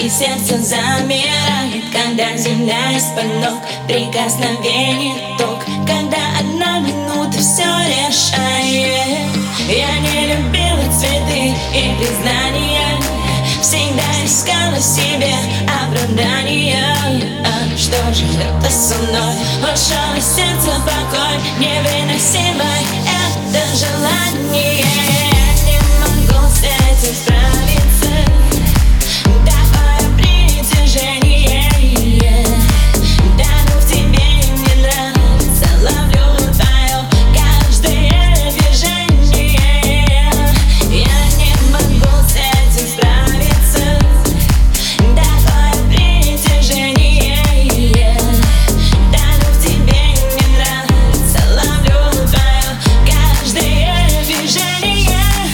И сердце замирает, когда земля из-под ног. Прикосновение ток, когда одна минута все решает. Я не любила цветы и признания, всегда искала себе оправдания. Что же это со мной? Ушел из сердца покой, невыносимое это желание. Я не могу с этим справиться. Такое притяжение, тону в тебе, мне нравится, ловлю твое каждое движение. Я не могу с этим справиться. Такое притяжение, тону в тебе, мне нравится, ловлю твое каждое движение.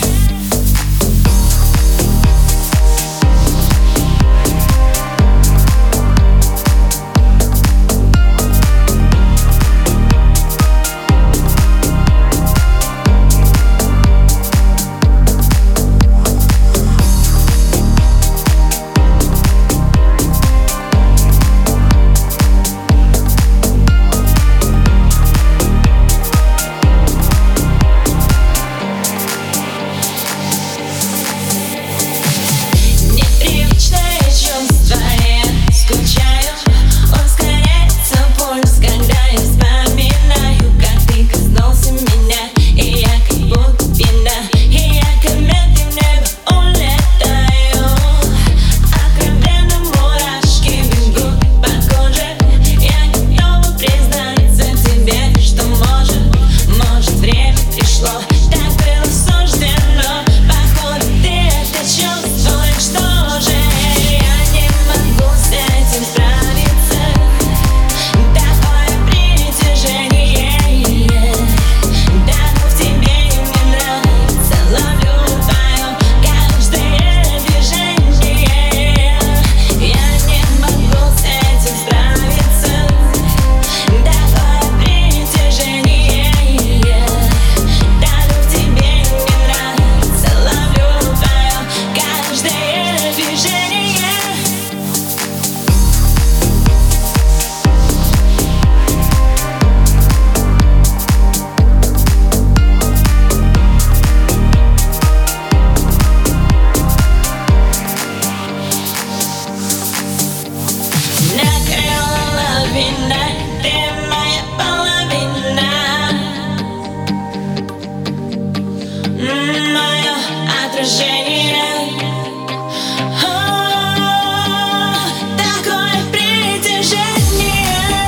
Мое отражение. Такое притяжение.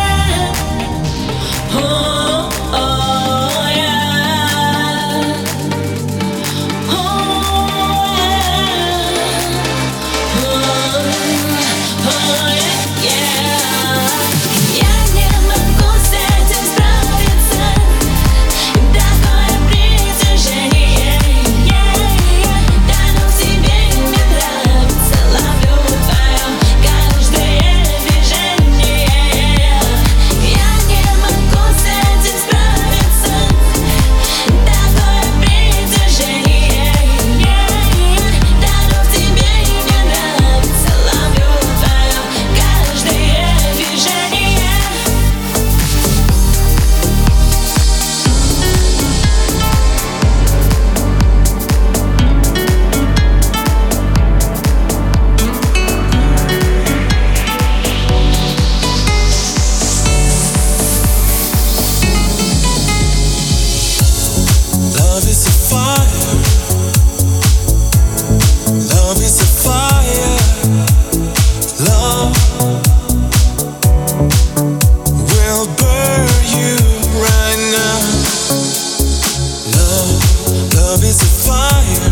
Я не могу с этим справиться. Такое притяжение. Тону в тебе, мне нравится, ловлю твое каждое движение. Я не могу с этим справиться. Такое притяжение. Тону в тебе, мне нравится, ловлю твое каждое движение. Love is a fire. Love is a fire. Love will burn you right now. Love is a fire.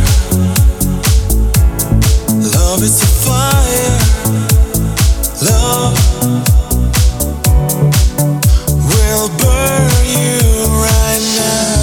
Love is a fire. Love will burn you right now.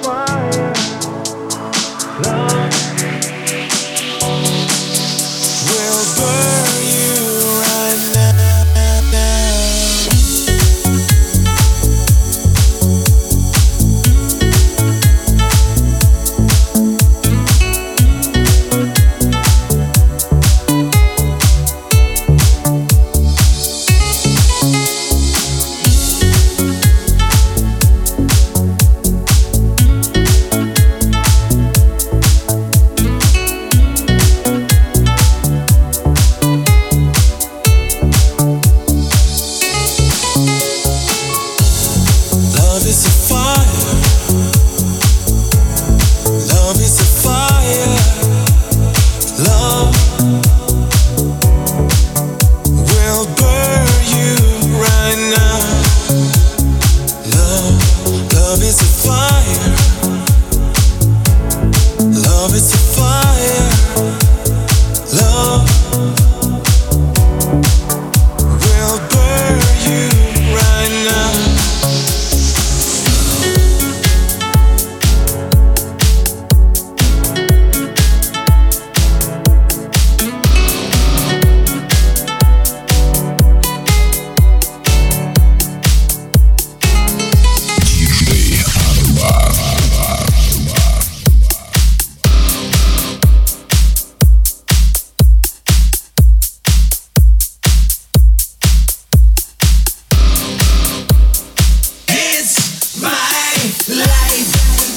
will burn you right now. Love is a fire. Love is a fire. Love will burn you right now. Love is a fire. Love is a fire. Love will burn you right now. It's my life.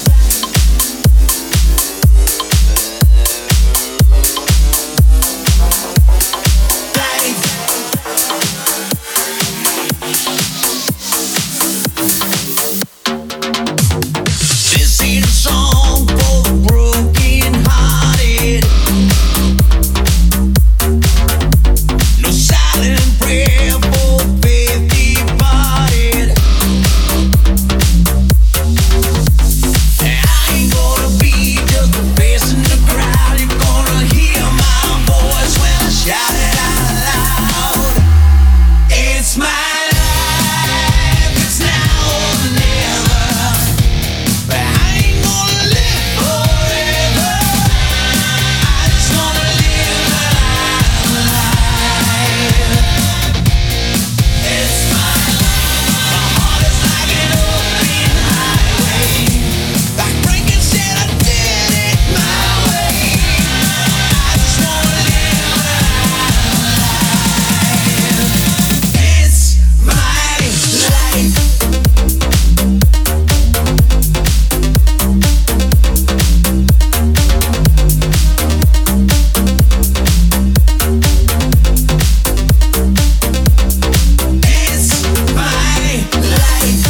This ain't a song for the broken-hearted. No silent prayer for faith departed. I ain't gonna be just a face in the crowd. You're gonna hear my voice when I shout it out loud. It's my life, it's now or never. But I ain't gonna live forever. I just wanna live a life. It's my life. My heart is like an open highway. Like Franklin said, I did it my way. I just wanna live a life. It's my life. It's my life.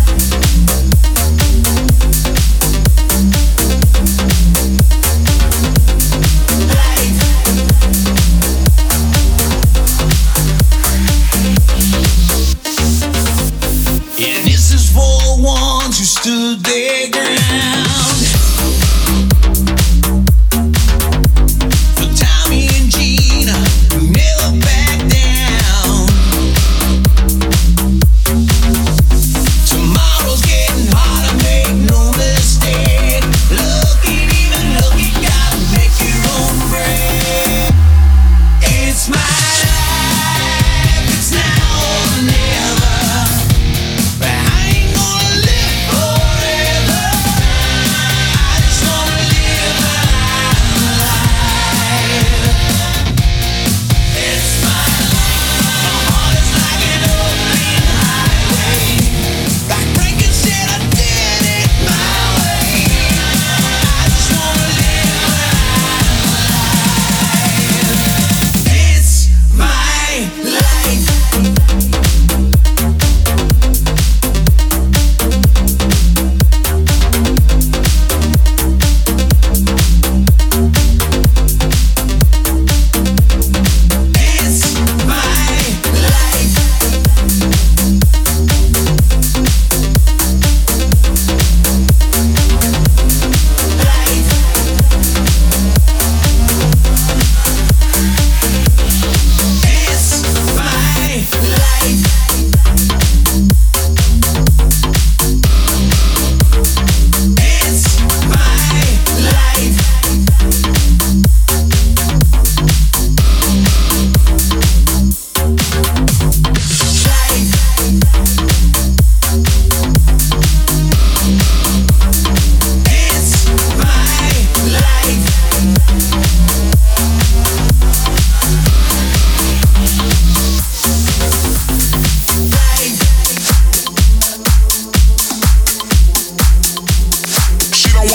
Yeah, this is for the ones who stood their ground. For Tommy and Gina, who never back down. Tomorrow's getting harder, make no mistake. Look it, even look it, gotta make your own break. It's my life, it's now or never. But I ain't gonna live forever.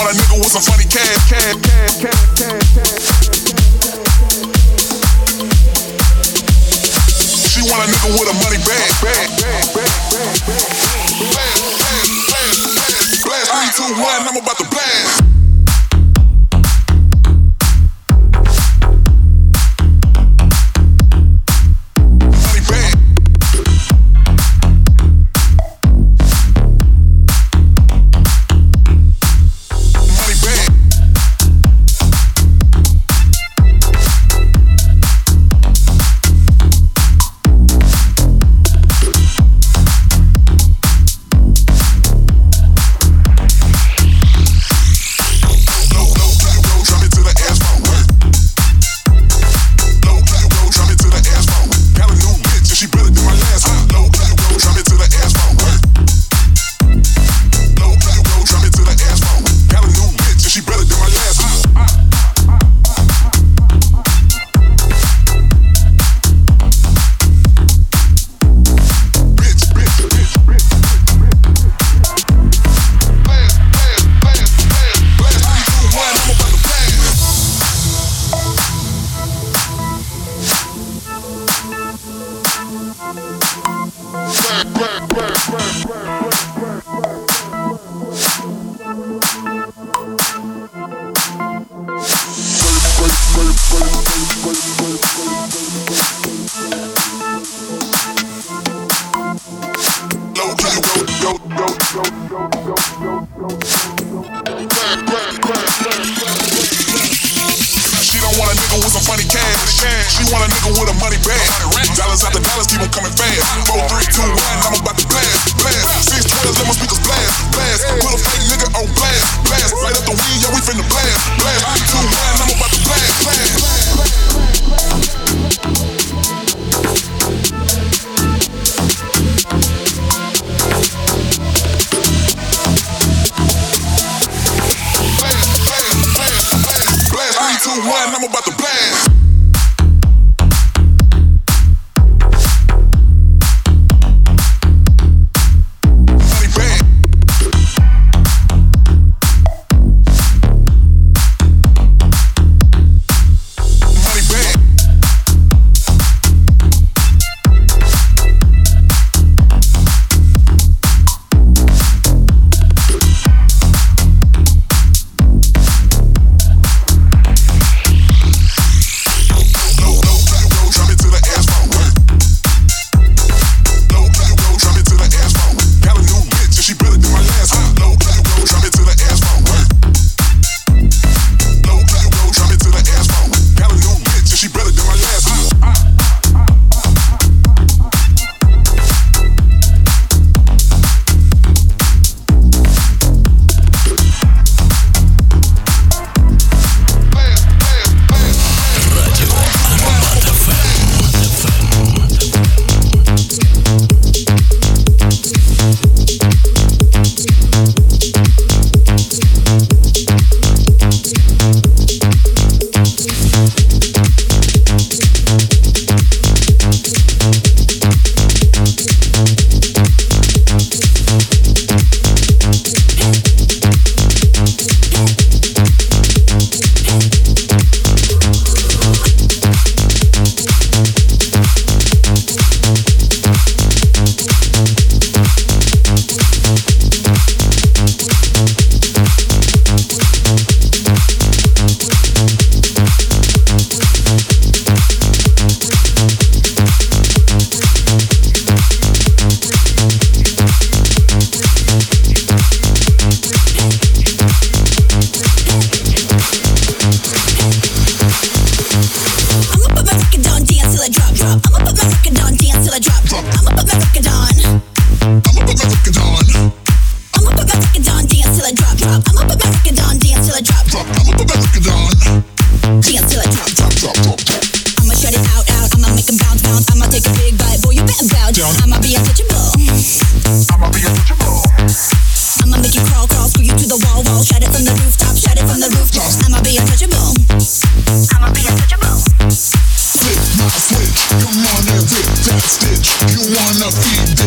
want a nigga with some funny cash. She want a nigga with a money bag. Blast 3, 2, 1, I'm about to blast.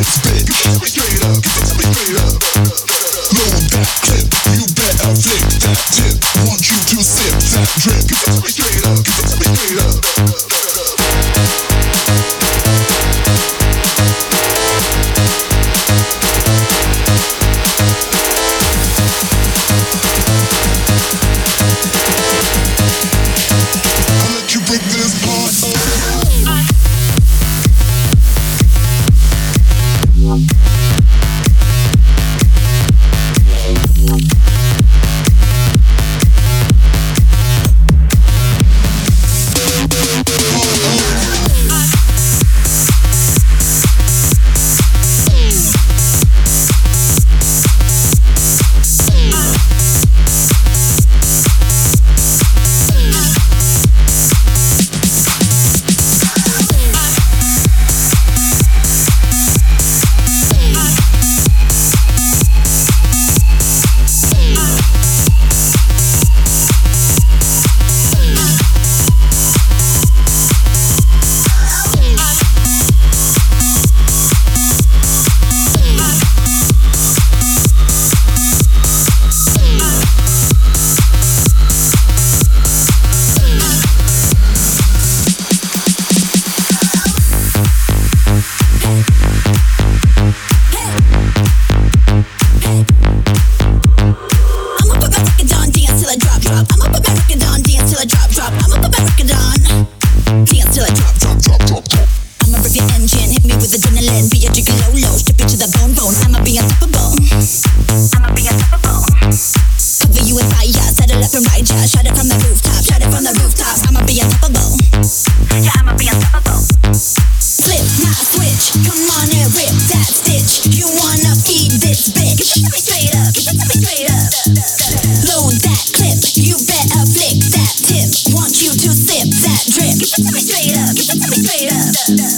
Load that clip, you better flip that drop. I'ma put my record on, dance till I drop, drop. I'ma put my record on, dance till I drop, drop, drop, drop, drop. I'ma rev your engine, hit me with adrenaline, be a gigolo, strip it to the bone, bone. I'ma be unstoppable. I'ma be unstoppable. Cover you in fire, settle up and ride ya. Shout it from the rooftop, shout it from the rooftops. I'ma be unstoppable. Yeah, I'ma be unstoppable. Flip my switch, come on and rip that stitch. You wanna feed this bitch? Give it to me straight up, give it to me straight up. Load that clip, you better flick that tip. Want you to sip that drip. Give it to me straight up, give it to me straight up.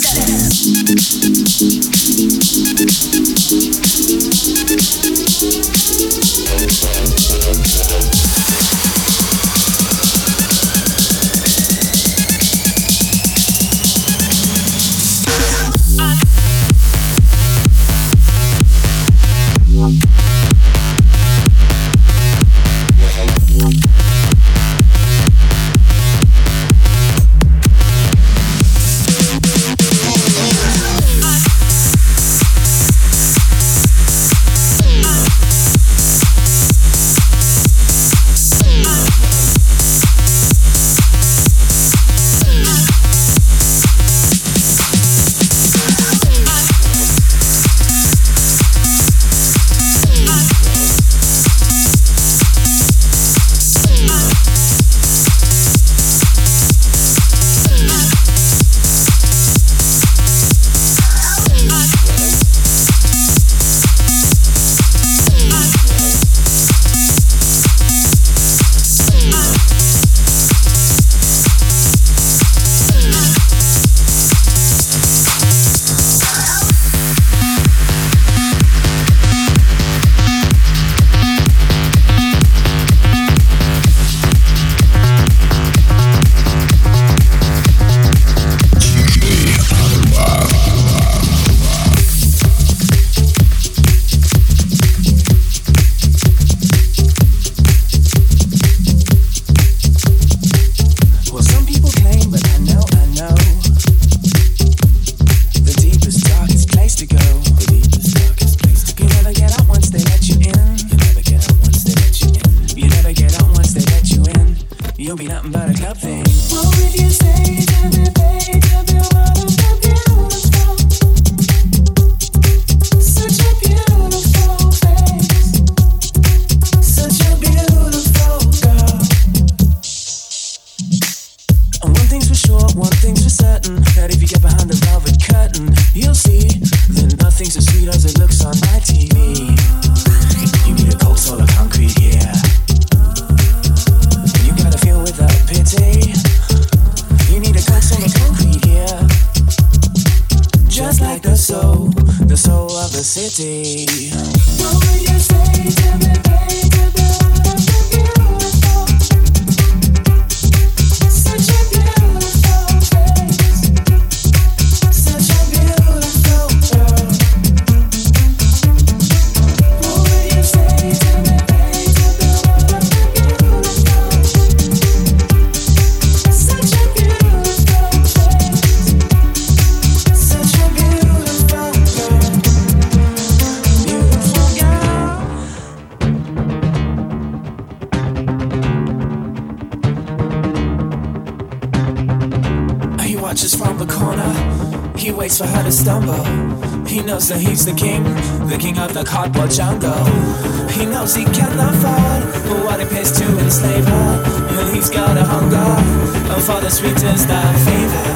That he's the king of the cardboard jungle. He knows he cannot afford what it pays to enslave her. And he's got a hunger for the sweetest of flavor.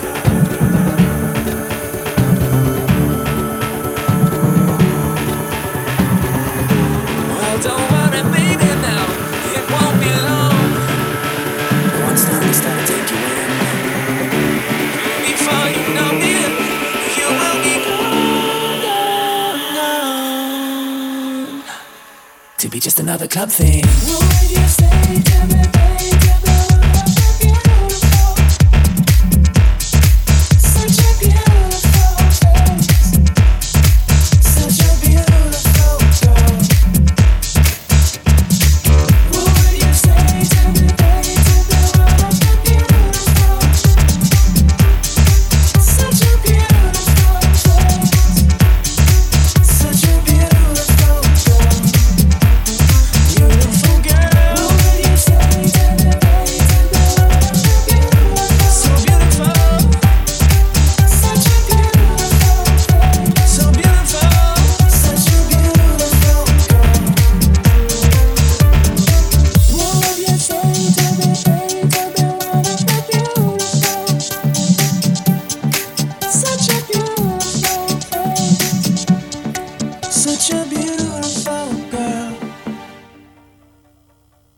Well, don't worry, baby, now it won't be long. Once time to start to take you in. Before you know it, you will be gone. To be just another club thing. What would you say to me, baby? Such a beautiful face, such a beautiful girl. What would you say to me, baby? Such a beautiful face, such a beautiful girl. Beautiful girl. What would you say? beautiful.